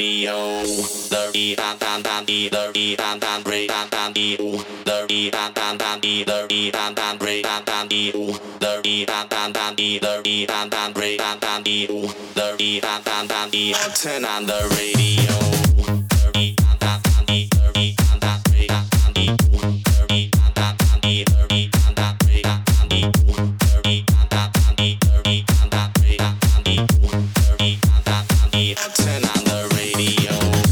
radio. The beat and the beat and break and the the beat and the beat and break and the the beat and the beat and break and the the beat and the turn on the radio. The beat and the beat and break and the the beat and the beat and break and the the beat and the beat and break and the the beat and turn on the radio.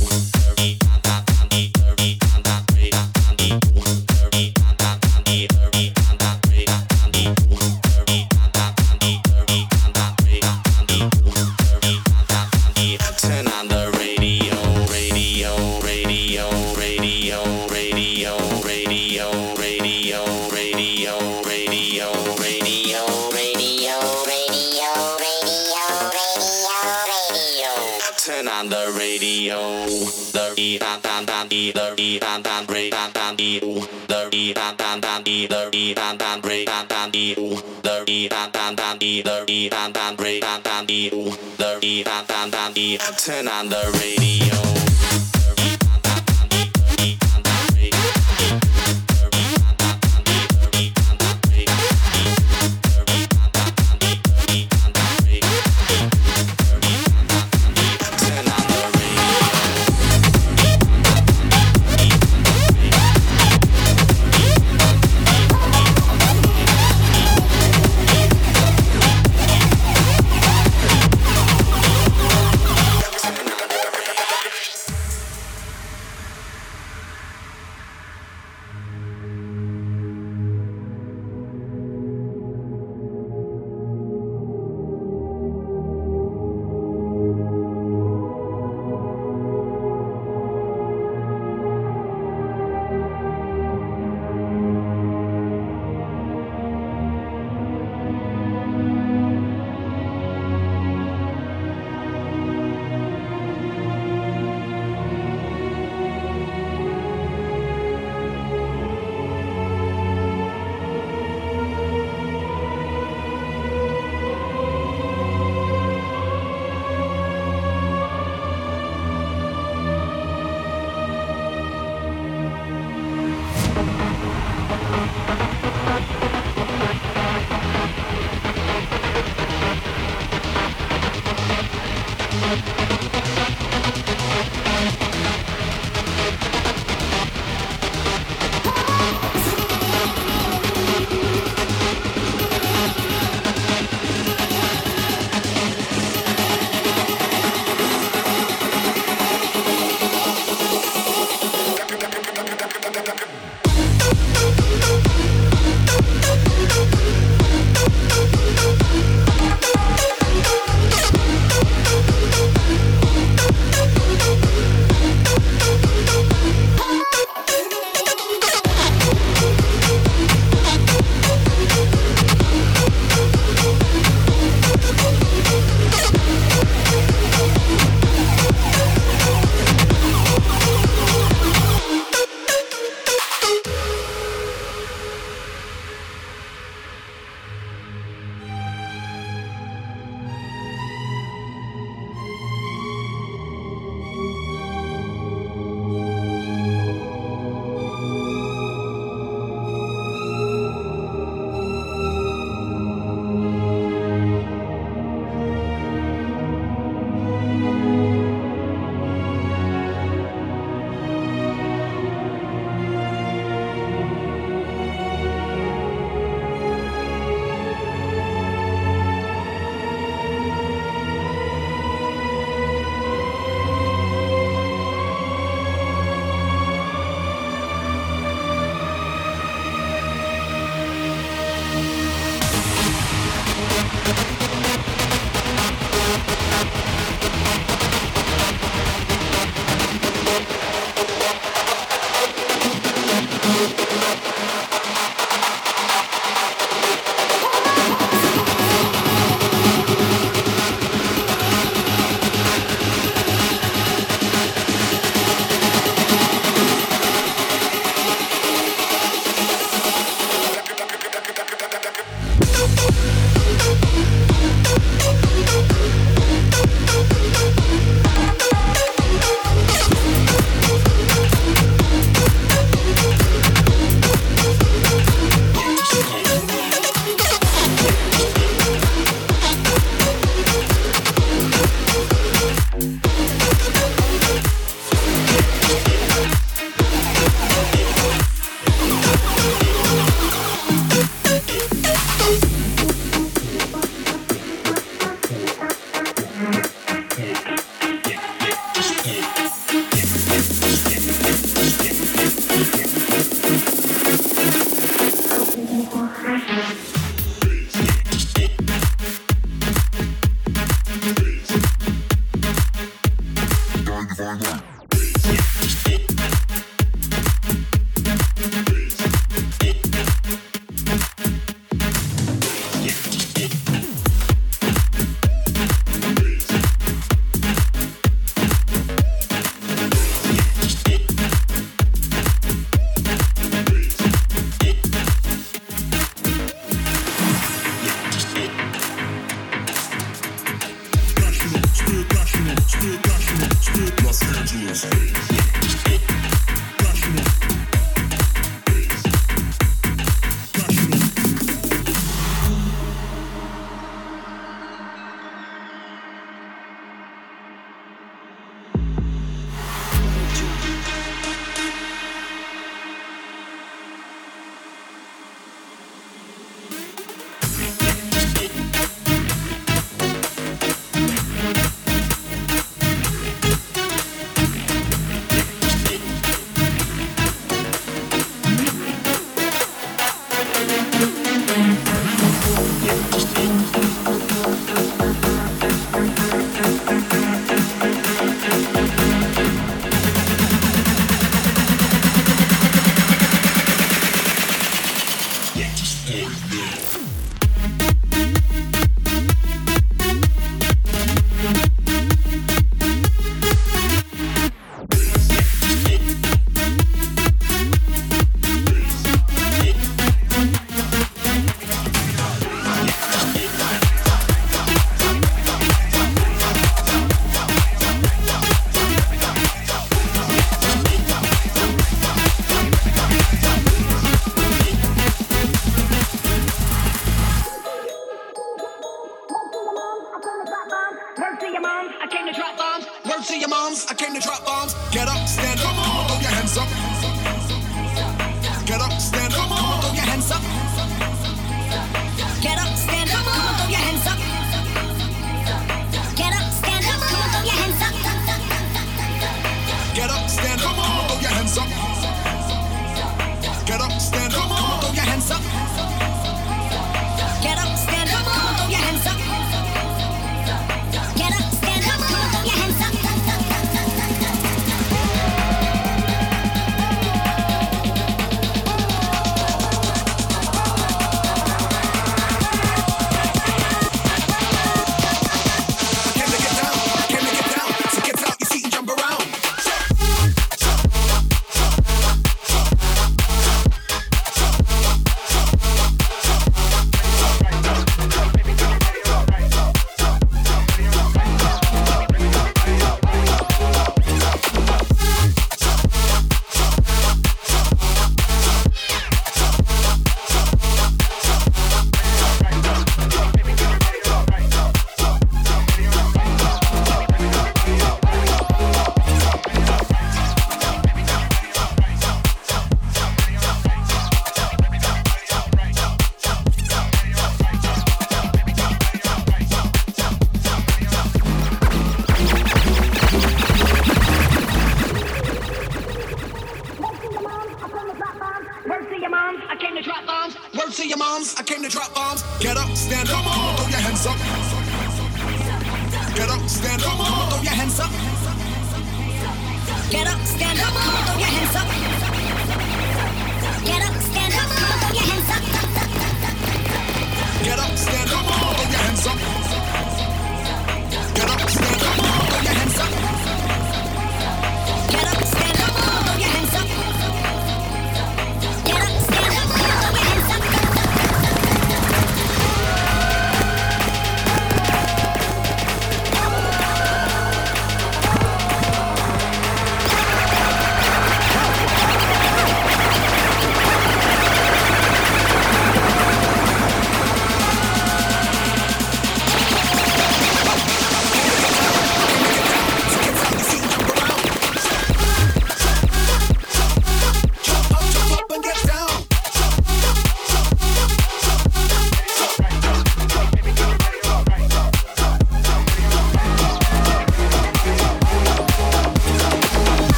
Turn on the radio, radio, radio, radio, radio, radio, radio, radio, radio, radio, radio, radio, radio. Turn on the radio. The beat and the beat and break and the beat and the beat and break and the beat and the beat and break and the beat and turn on the radio.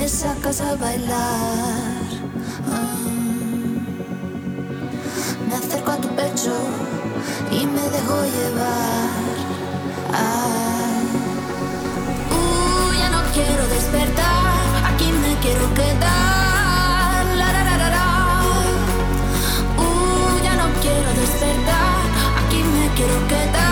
sacas a bailar. Me acerco a tu pecho y me dejo llevar. Ya no quiero despertar, aquí me quiero quedar. Ya no quiero despertar, aquí me quiero quedar.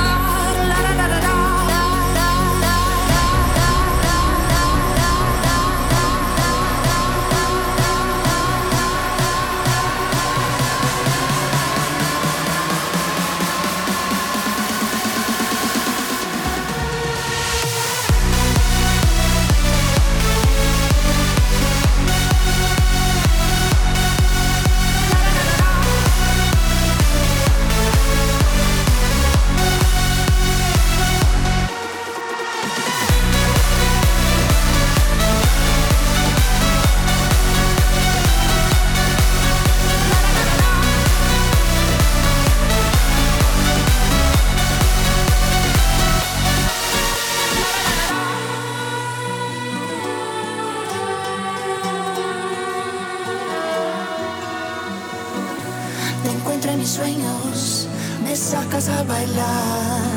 Sueños, me sacas a bailar.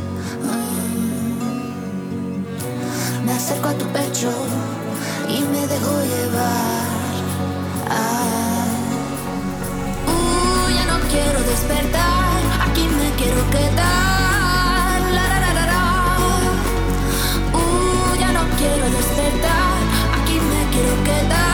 Me acerco a tu pecho y me dejo llevar. Ya no quiero despertar, aquí me quiero quedar. Ya no quiero despertar, aquí me quiero quedar.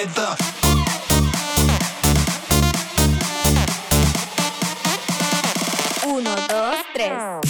Together. Uno, dos, tres.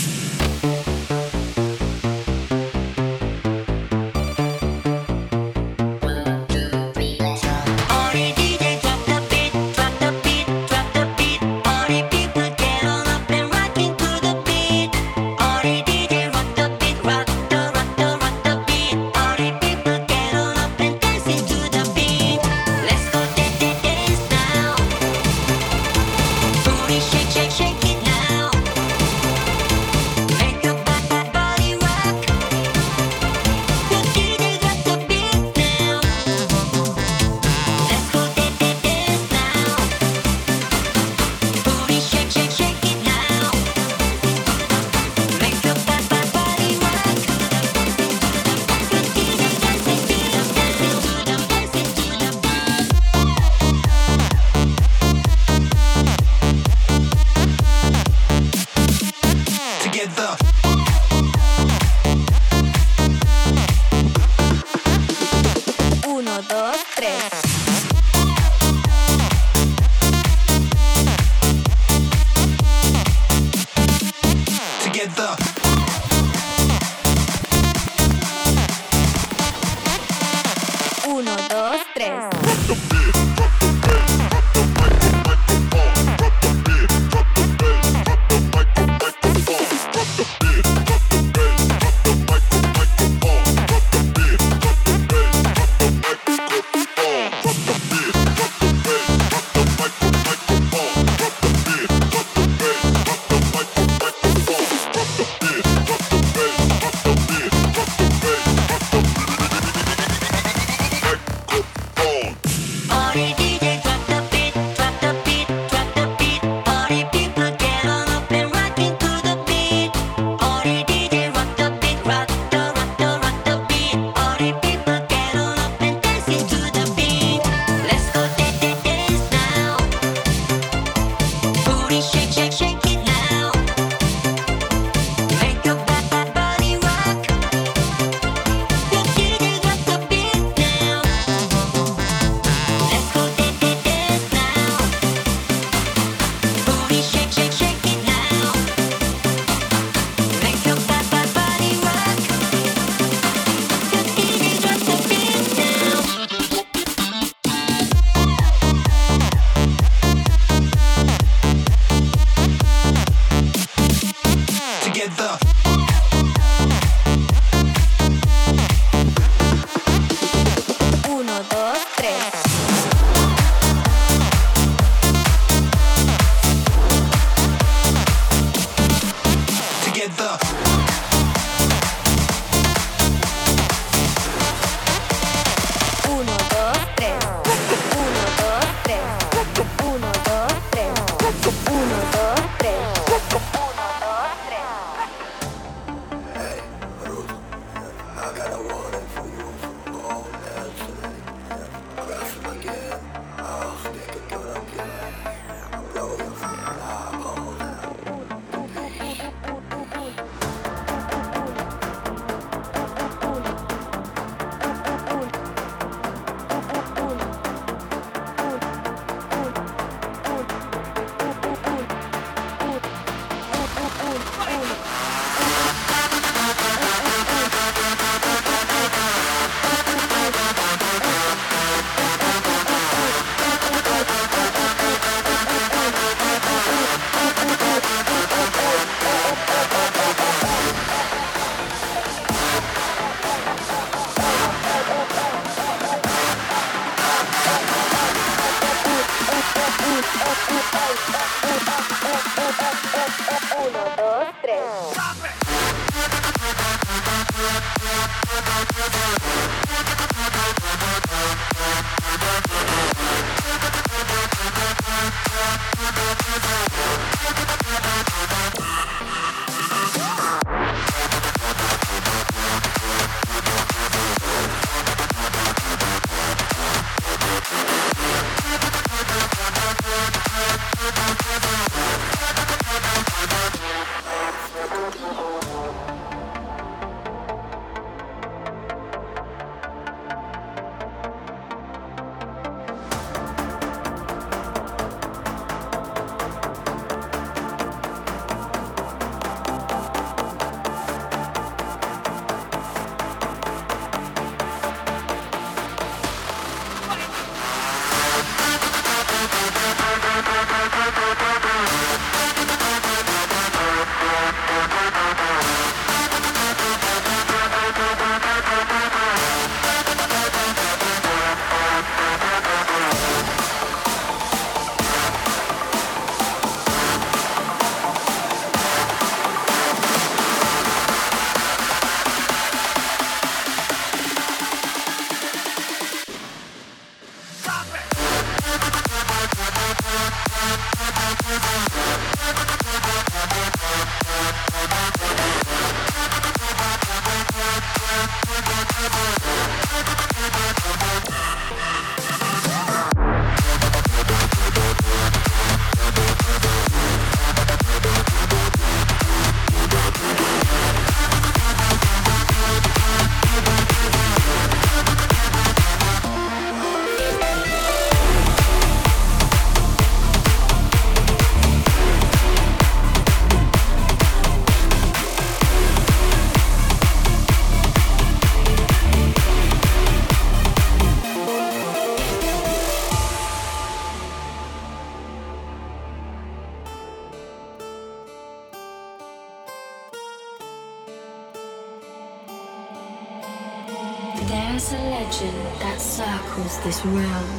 legend that circles this realm.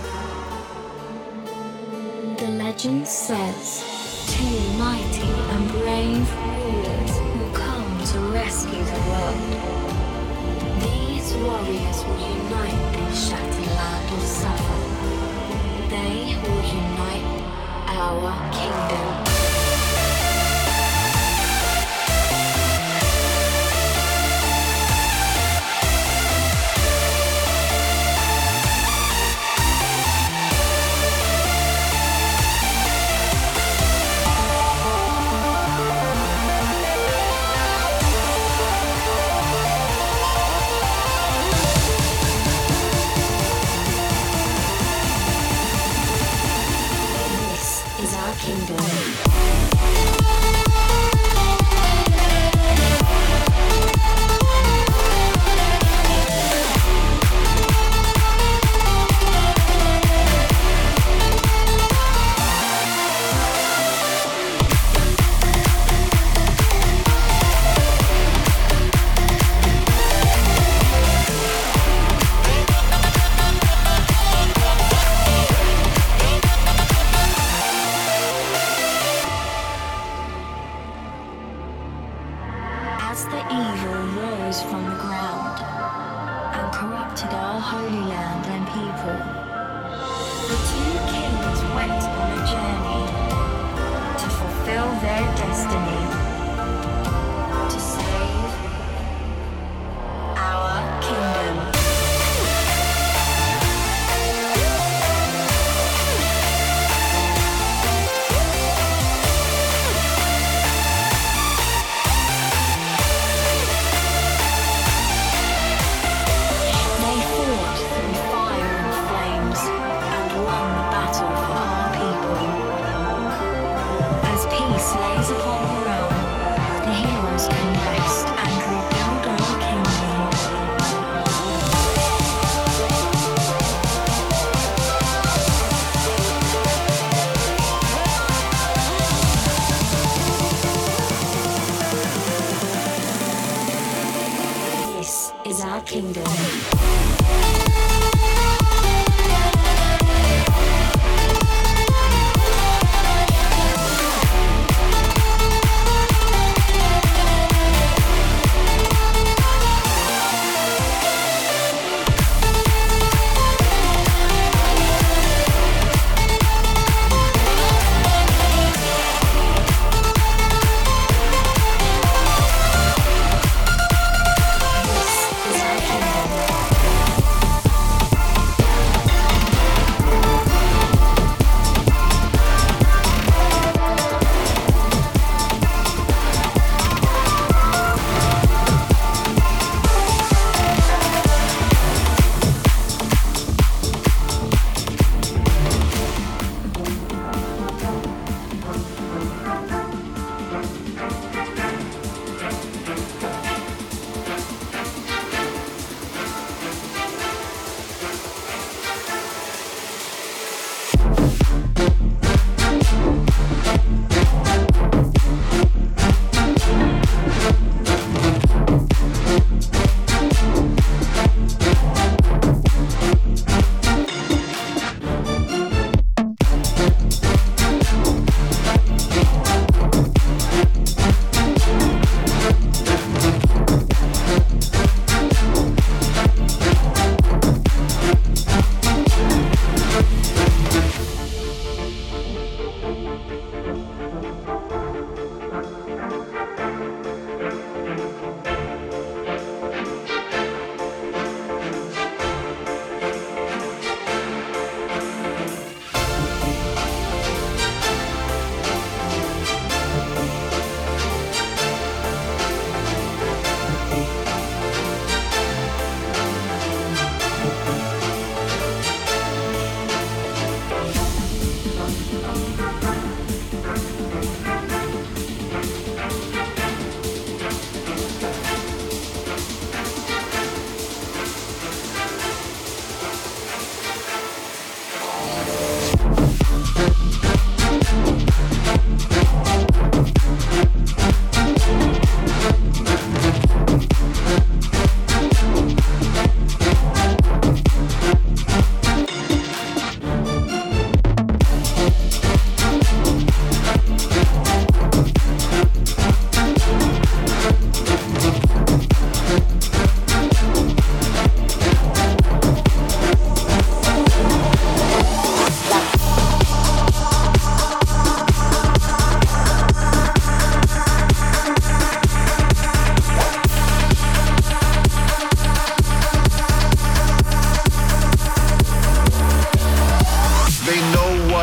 The legend says two mighty and brave rulers will come to rescue the world. These warriors will unite this shattered land of suffer. They will unite our kingdom. This is our kingdom.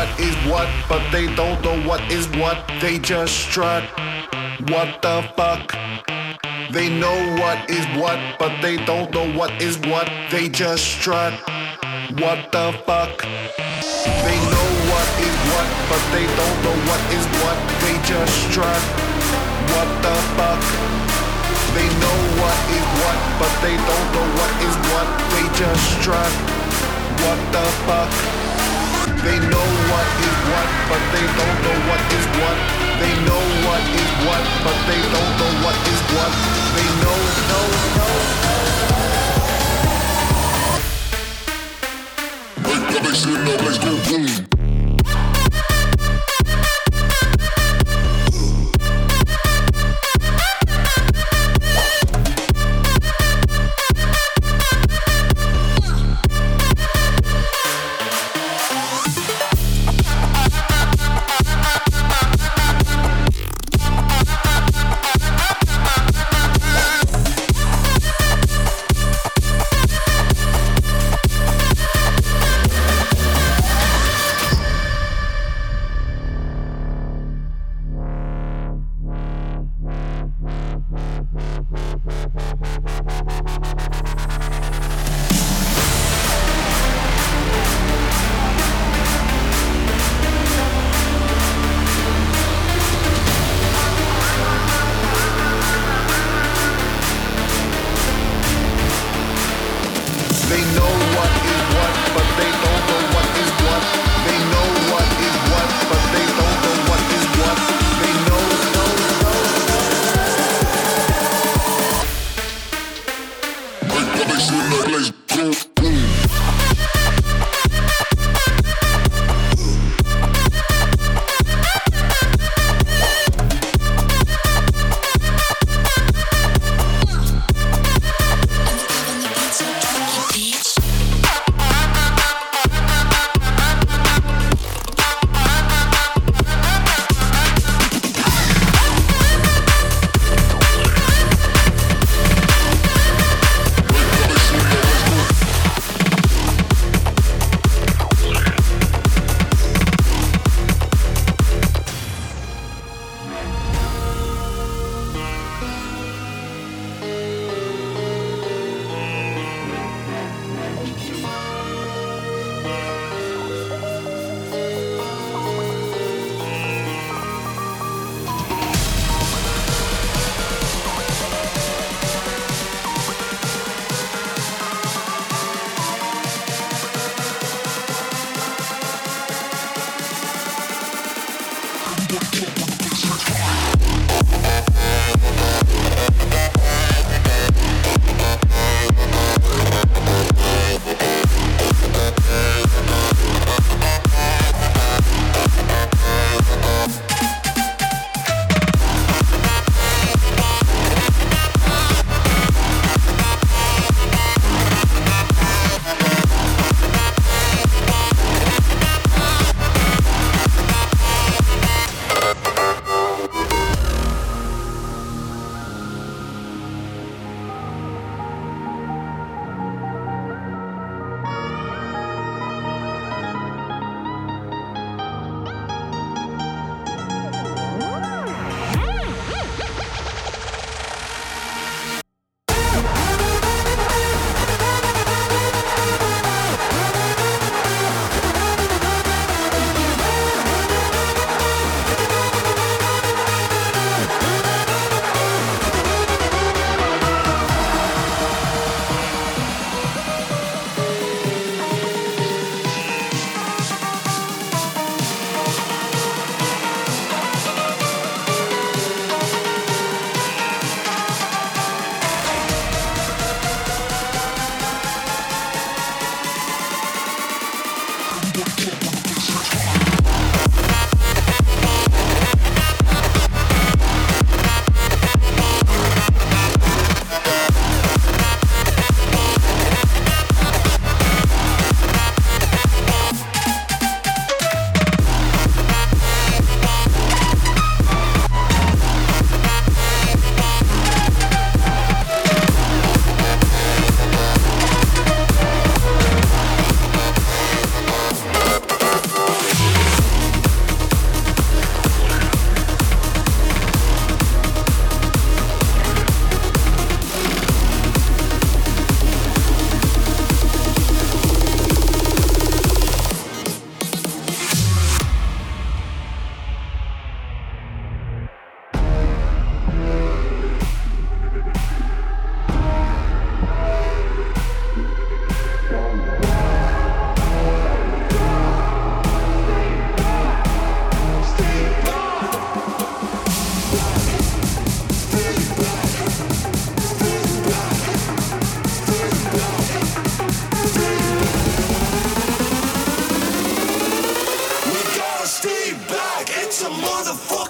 what is what, but they don't know what is what. They just strut. What the fuck? They know what is what, but they don't know what is what. They just strut. What the fuck? They know what is what, but they don't know what is what. They just strut. What the fuck? They know what is what, but they don't know what is what. They just strut. What the fuck? They know what is what, but they don't know what is what. They know what is what, but they don't know what is what. They know. They say no, let's go boom.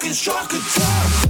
motherfucking shark attack.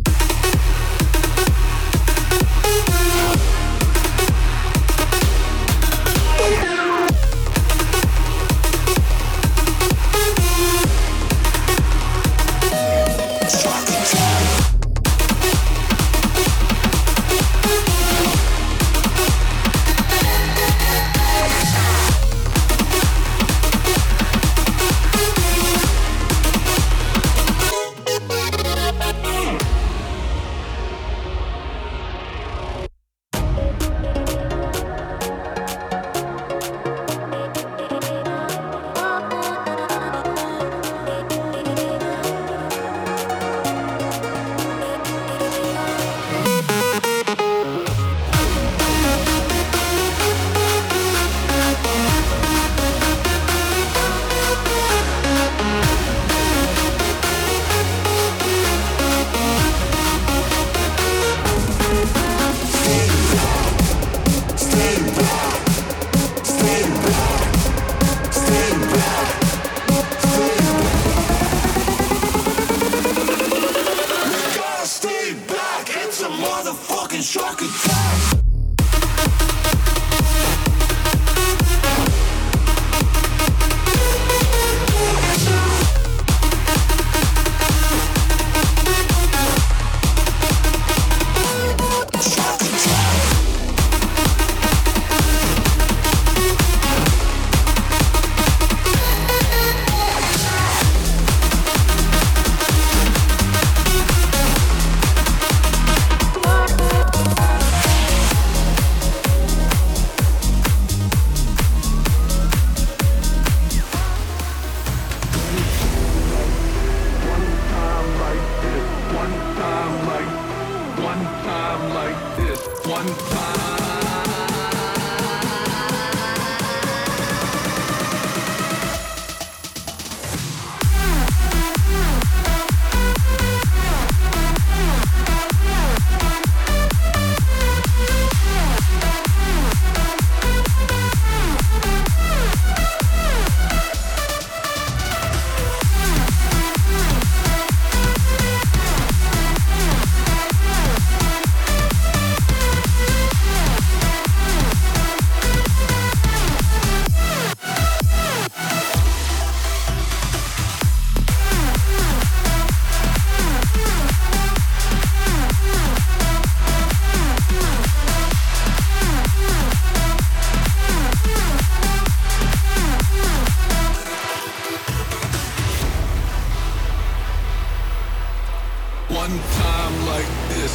One time like this,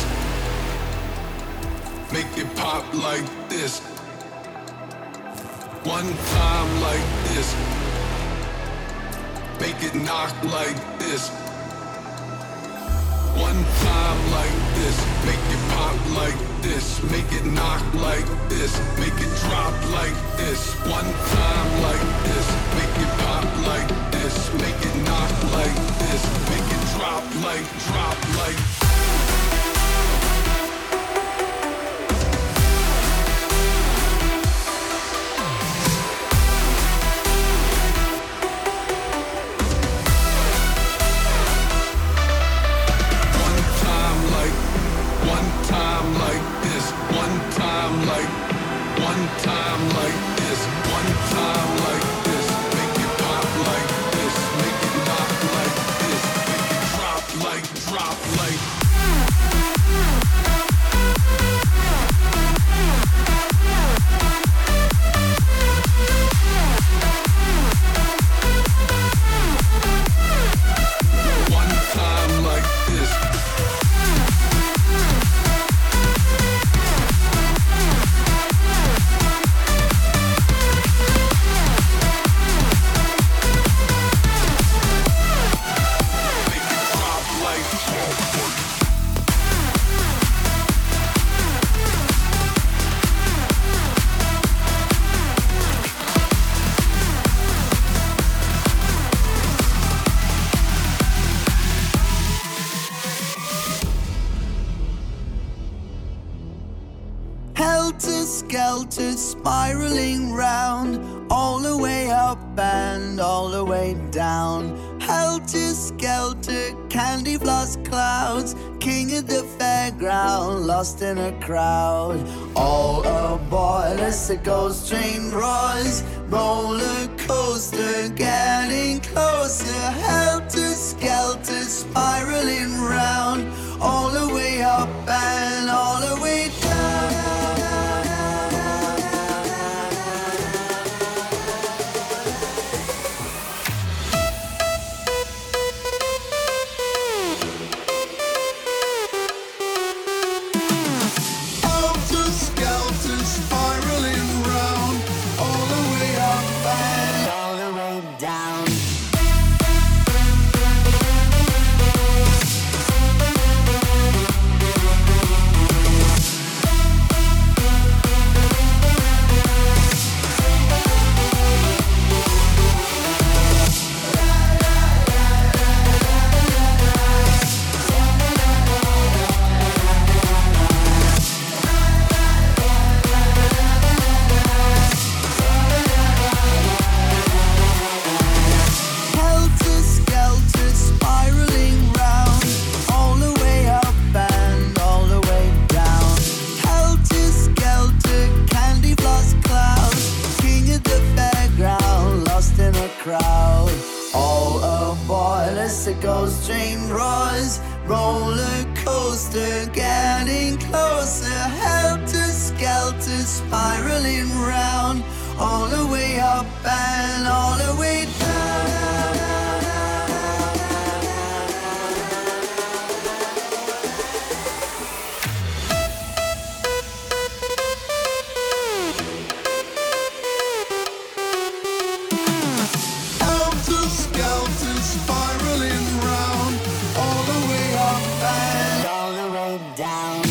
make it pop like this. One time like this, make it knock like this. One time like this, make it pop like this, make it knock like this, make it drop like this. One time like this, make it pop like this, make it knock like this, make it drop like. Helter-skelter, spiraling round, all the way up and all the way down. Helter skelter, candy floss clouds, king of the fairground, lost in a crowd. All aboard as the ghost train roars, roller coaster getting closer. Helter skelter, spiraling round, all the way up and all the way down. Ghost train roars, roller coaster getting closer. Helter skelter, spiraling round, all the way up and all the way down. Helter skelter, spiraling round, all the way up and all the way down.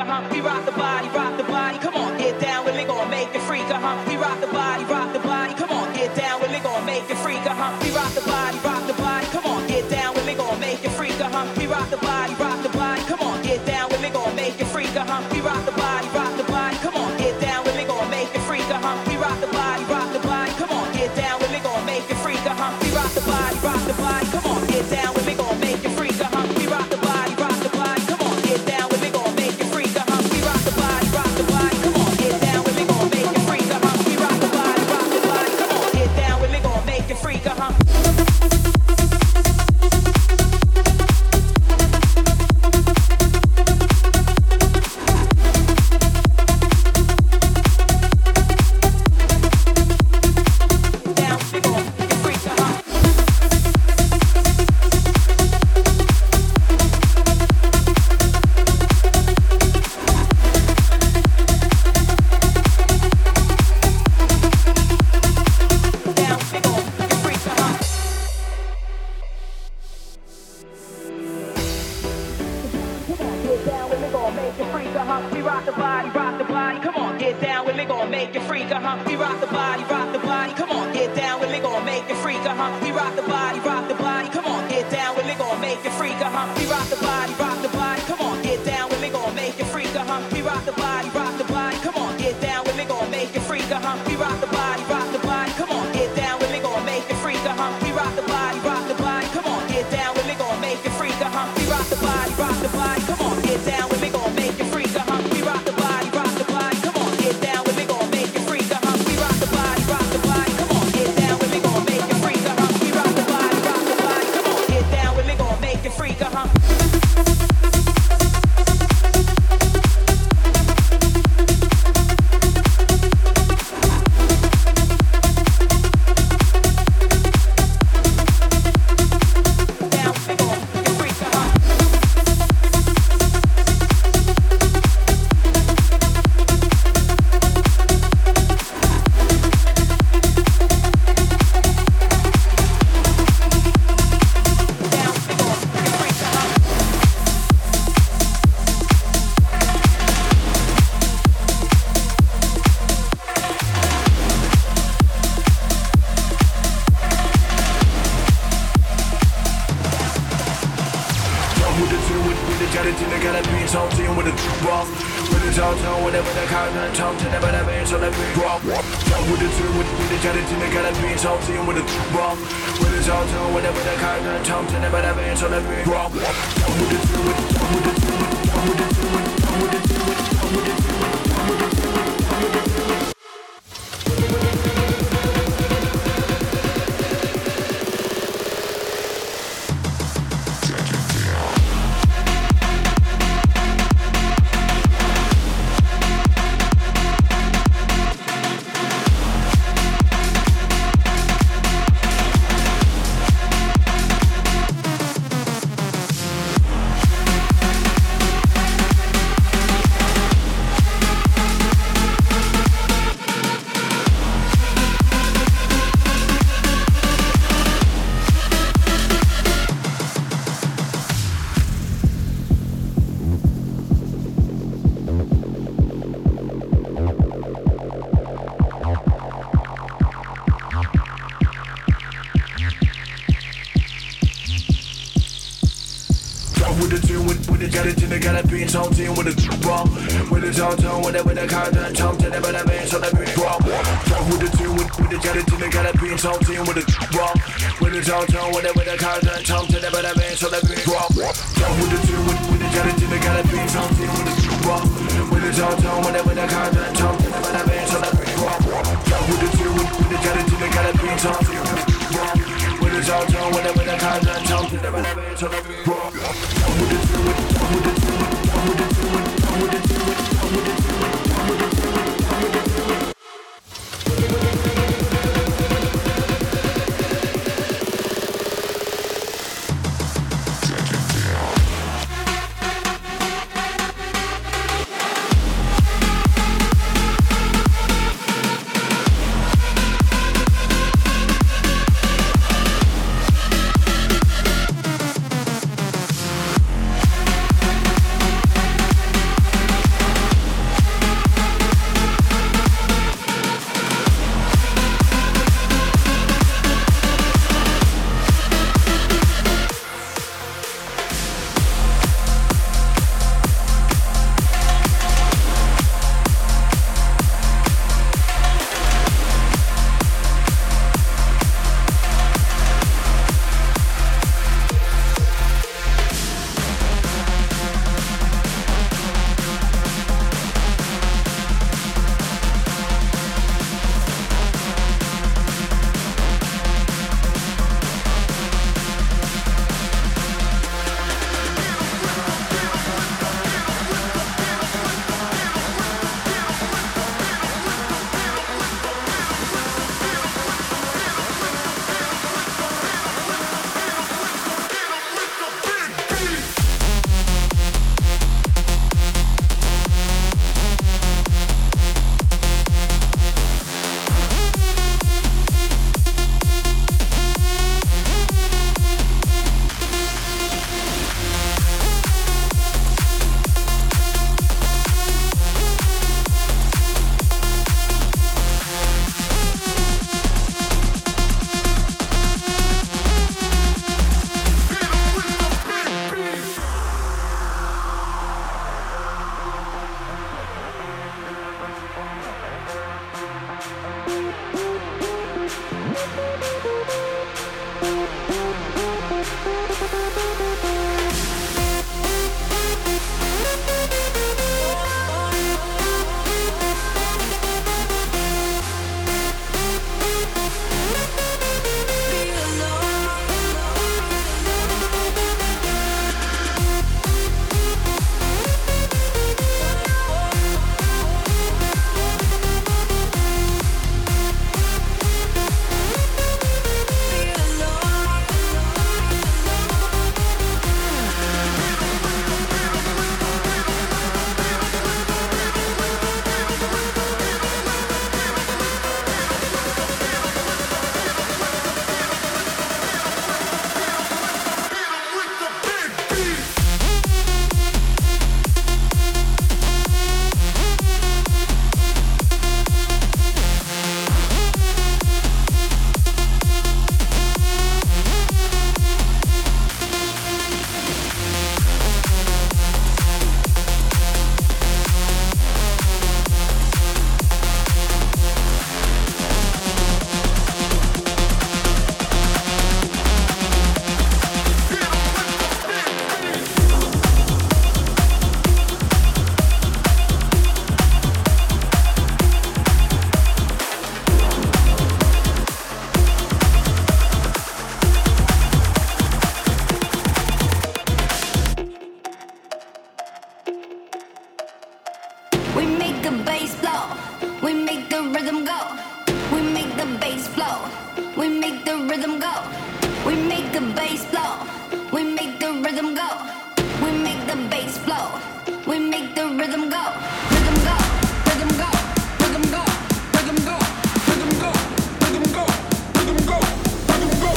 We rock the body, come on, get down with me, gon' make it freak, We rock the body, come on, get down with me, gon' make it freak, We rock the body, come on, get down with me, gon' make it freak, We rock the body, come on, get down with me, gon' make it freak, We rock the body, come on, get down with me, gon' make it freak, We rock the body, come on, get down with me, gon' make it freak, We rock the body, come on, get down with me, gon' make it freak, We rock the body, come on, get down with me, gon' make it freak, We rock the body, come on, get down with me, gon' make it freak, We rock the body, come on, get down with me, gon' make it freak, We make the bass blow. We make the rhythm go. We make the bass flow. We make the rhythm go. We make the bass blow. We make the rhythm go. We make the bass flow. We make the rhythm go. Rhythm go. Rhythm go. Rhythm go. Rhythm go. Rhythm go. Rhythm go. Rhythm go. Rhythm go.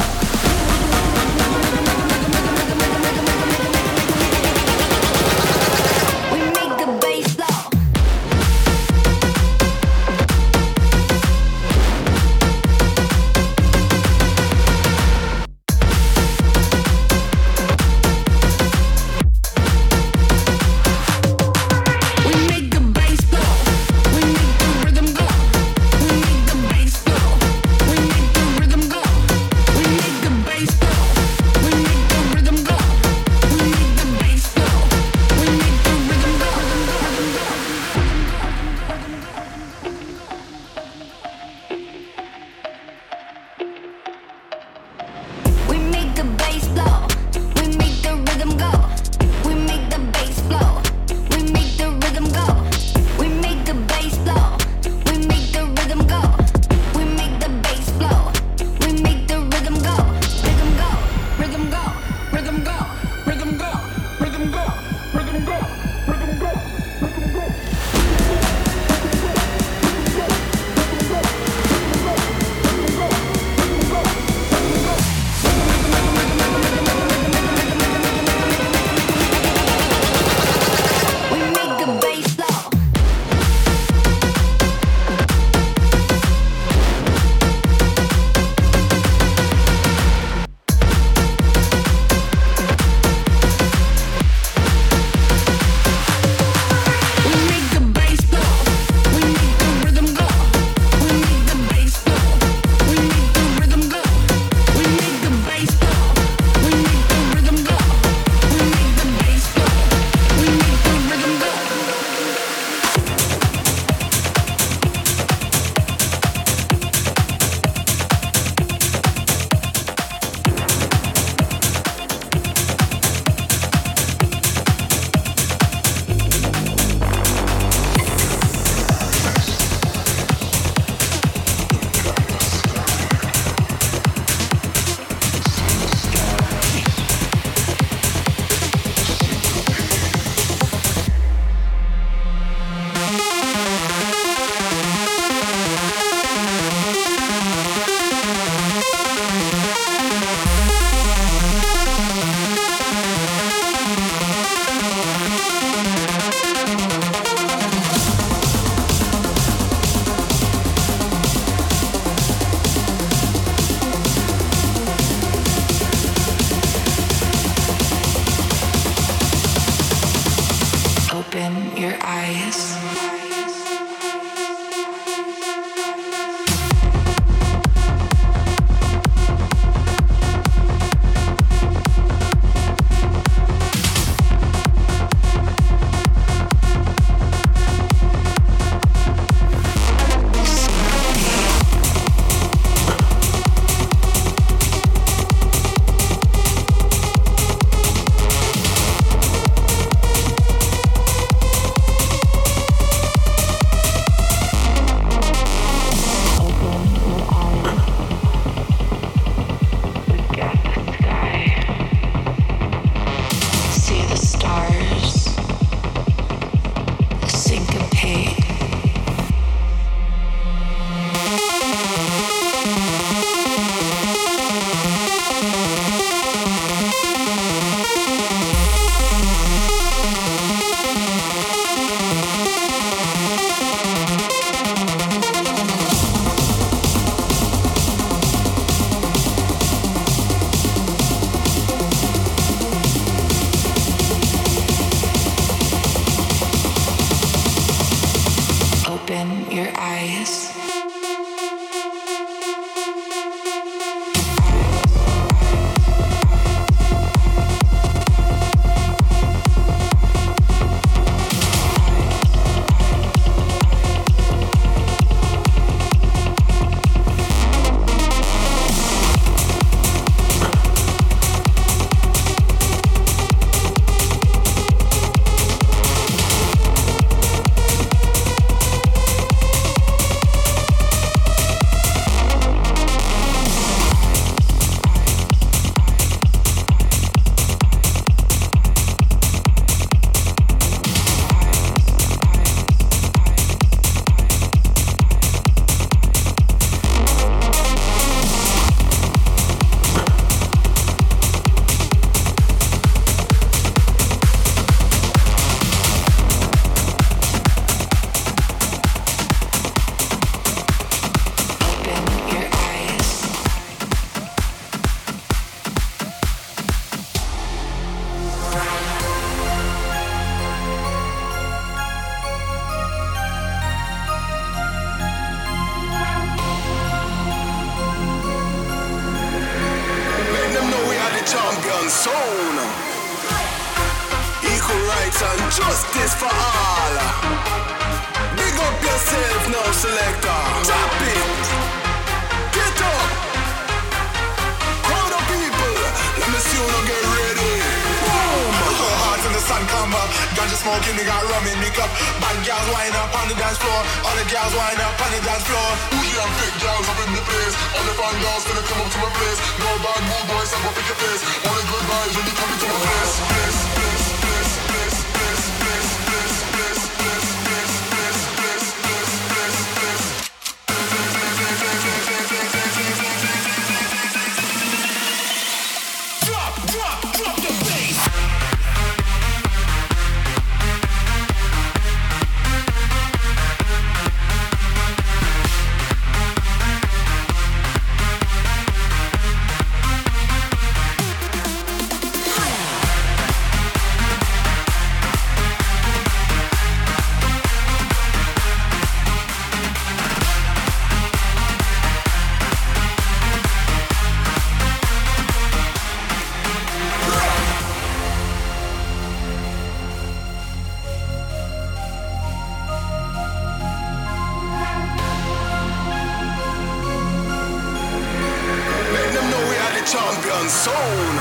We make the bass flow. champion sound. Equal rights and justice for all. Big up yourself now, selector. Drop it. Get up. Crowd of people. Let me see you now get ready. Boom. Hearts in the sun come up. Ganja smoking, they got rum in the cup. Bad girls wind up on the dance floor. All the girls wind up on the dance floor. Bougie and big girls up in the place. All the fine girls gonna come up to my place. No bad mood boys, I'm gonna pick your face. Only good vibes when you come into my place. Champion sound.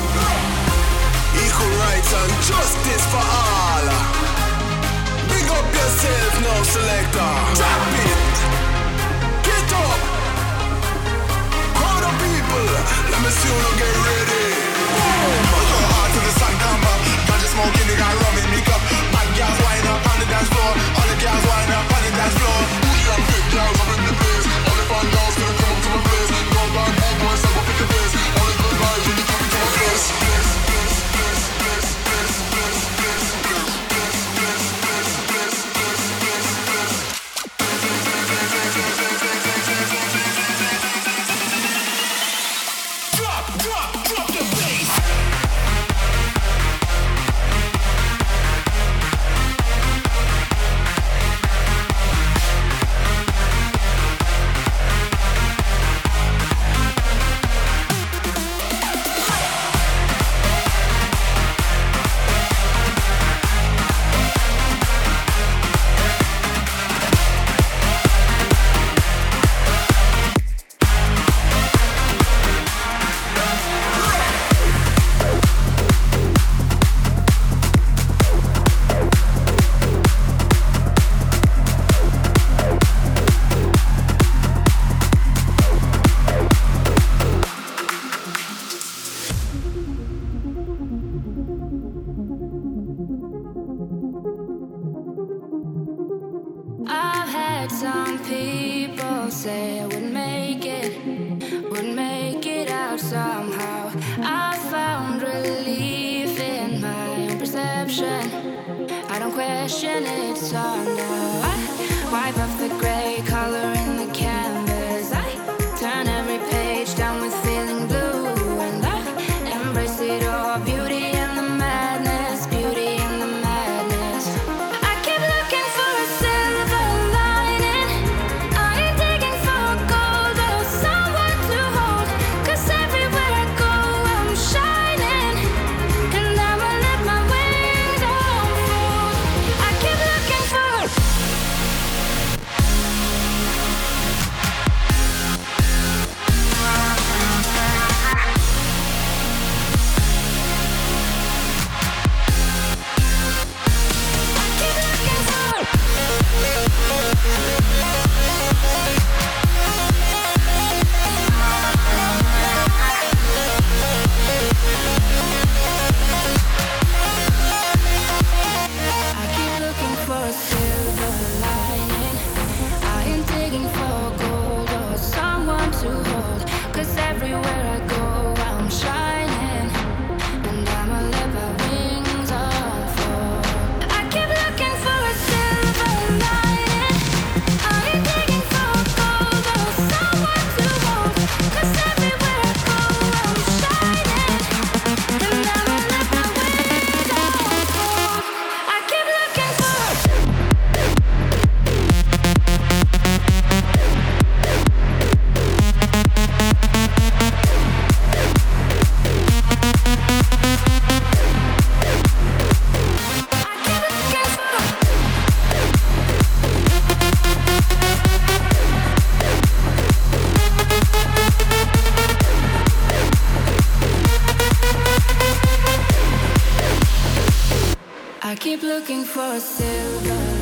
Equal rights and justice for all. Big up yourself now, selector. Drop it. Get up. Crowd of people. Let me see you now get ready. Boom. Hearts in the sun come up. Ganja smoking, they got rum in the cup. Bad girls wind up on the dance floor. All the girls wind up on the dance floor. Bougie and big girls up in the place. All the fine girls gonna come up to my place. No bad mood boys, I'm gonna pick your face. Only good vibes when you come into my place. I've had some people say I would make it out somehow. I found relief in my own perception. I don't question it, so now I wipe off the gray color in the canvas. I turn every page down with feeling blue, and I embrace it all, beauty and the madness, beauty and the madness. I keep looking for a silver lining. I ain't digging for gold or someone to hold, 'cause everywhere I go I'm shining, and I'ma let my wings unfold. I keep looking for looking for a silver